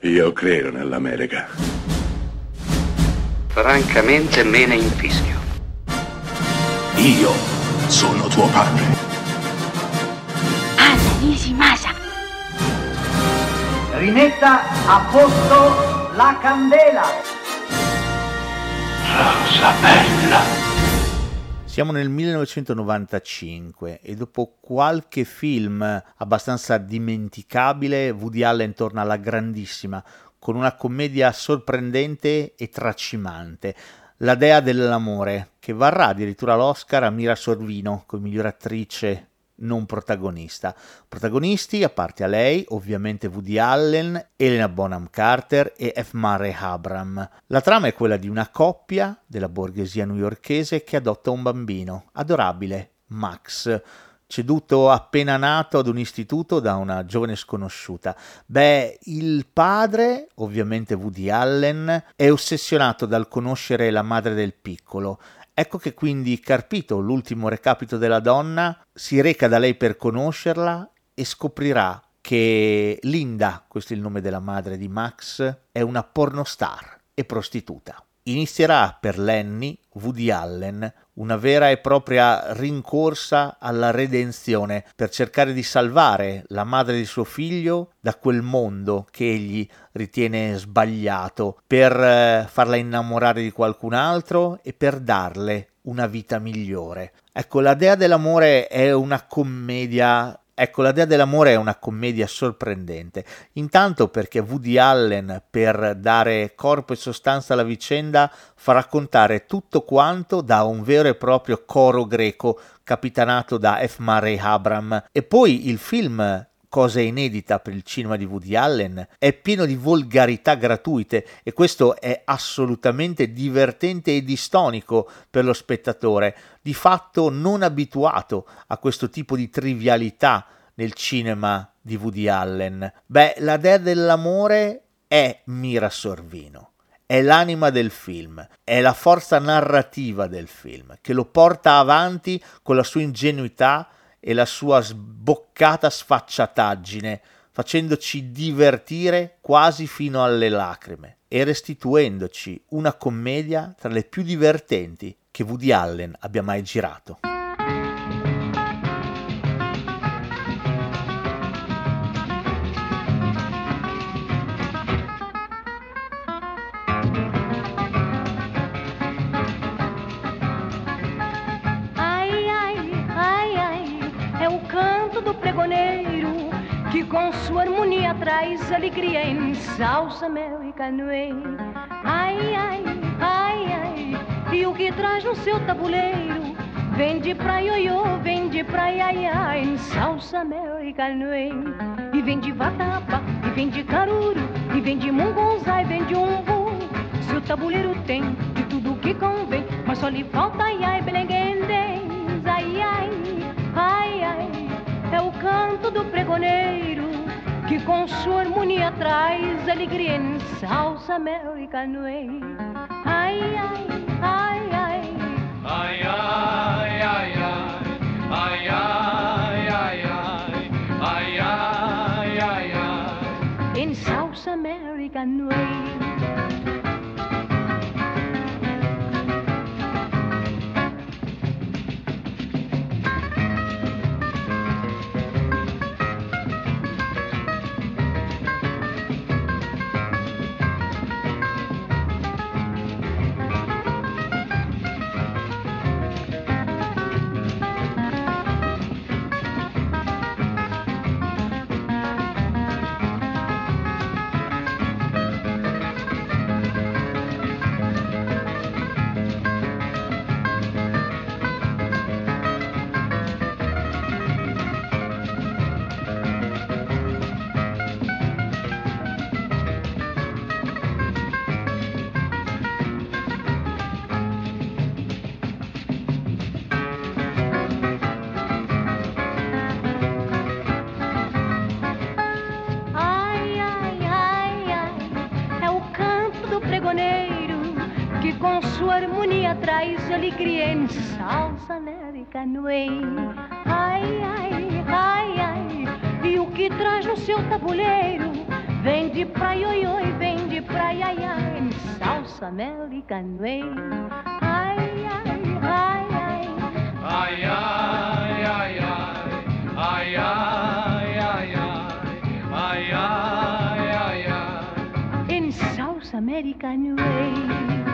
Io credo nell'America. Francamente me ne infischio. Io sono tuo padre. Anna Nishimasa. Rimetta a posto la candela. Rosa bella. Siamo nel 1995 e dopo qualche film abbastanza dimenticabile, Woody Allen torna alla grandissima con una commedia sorprendente e tracimante, La Dea dell'amore, che varrà addirittura l'Oscar a Mira Sorvino come miglior attrice non protagonista. Protagonisti, a parte a lei, ovviamente Woody Allen, Helena Bonham Carter e F. Murray Abraham. La trama è quella di una coppia della borghesia newyorkese che adotta un bambino, adorabile, Max, ceduto appena nato ad un istituto da una giovane sconosciuta. Il padre, ovviamente Woody Allen, è ossessionato dal conoscere la madre del piccolo. Ecco che quindi, carpito l'ultimo recapito della donna, si reca da lei per conoscerla e scoprirà che Linda, questo è il nome della madre di Max, è una pornostar e prostituta. Inizierà per Lenny, Woody Allen, una vera e propria rincorsa alla redenzione per cercare di salvare la madre di suo figlio da quel mondo che egli ritiene sbagliato, per farla innamorare di qualcun altro e per darle una vita migliore. Ecco, La Dea dell'amore è una commedia sorprendente, intanto perché Woody Allen, per dare corpo e sostanza alla vicenda, fa raccontare tutto quanto da un vero e proprio coro greco capitanato da F. Murray Abraham, e poi il film, cosa inedita per il cinema di Woody Allen, è pieno di volgarità gratuite e questo è assolutamente divertente e distonico per lo spettatore, di fatto non abituato a questo tipo di trivialità nel cinema di Woody Allen. La Dea dell'amore è Mira Sorvino, è l'anima del film, è la forza narrativa del film che lo porta avanti con la sua ingenuità e la sua sboccata sfacciataggine, facendoci divertire quasi fino alle lacrime e restituendoci una commedia tra le più divertenti che Woody Allen abbia mai girato. Que com sua harmonia traz alegria em salsa, mel e canoe. Ai, ai, ai, ai, e o que traz no seu tabuleiro vem de pra ioiô, vem de pra iaiá, em salsa, mel e canoe. E vem de vatapa, e vem de caruru, e vem de mungunzá, e vem de umbu. Seu tabuleiro tem de tudo que convém, mas só lhe falta iai, belenguendens. Ai, ai, ai, ai, é o canto do pregoneiro que com sua harmonia traz alegria em salsa, mel e canoe. Ai, ai, ai, ai, ai, ai, ai, ai, ai, ai, ai, ai, ai, ai, ai, em salsa, mel e canoe. Que com sua harmonia traz alegria em salsa, mel e canoe. Ai, ai, ai, ai, e o que traz no seu tabuleiro Vem de praia, oi, oi, vem de praia, ai, ai, em South American way. Ai, ai, ai, ai. Ai, ai, ai, ai, ai, ai, ai, ai, ai, ai, ai, In South American way.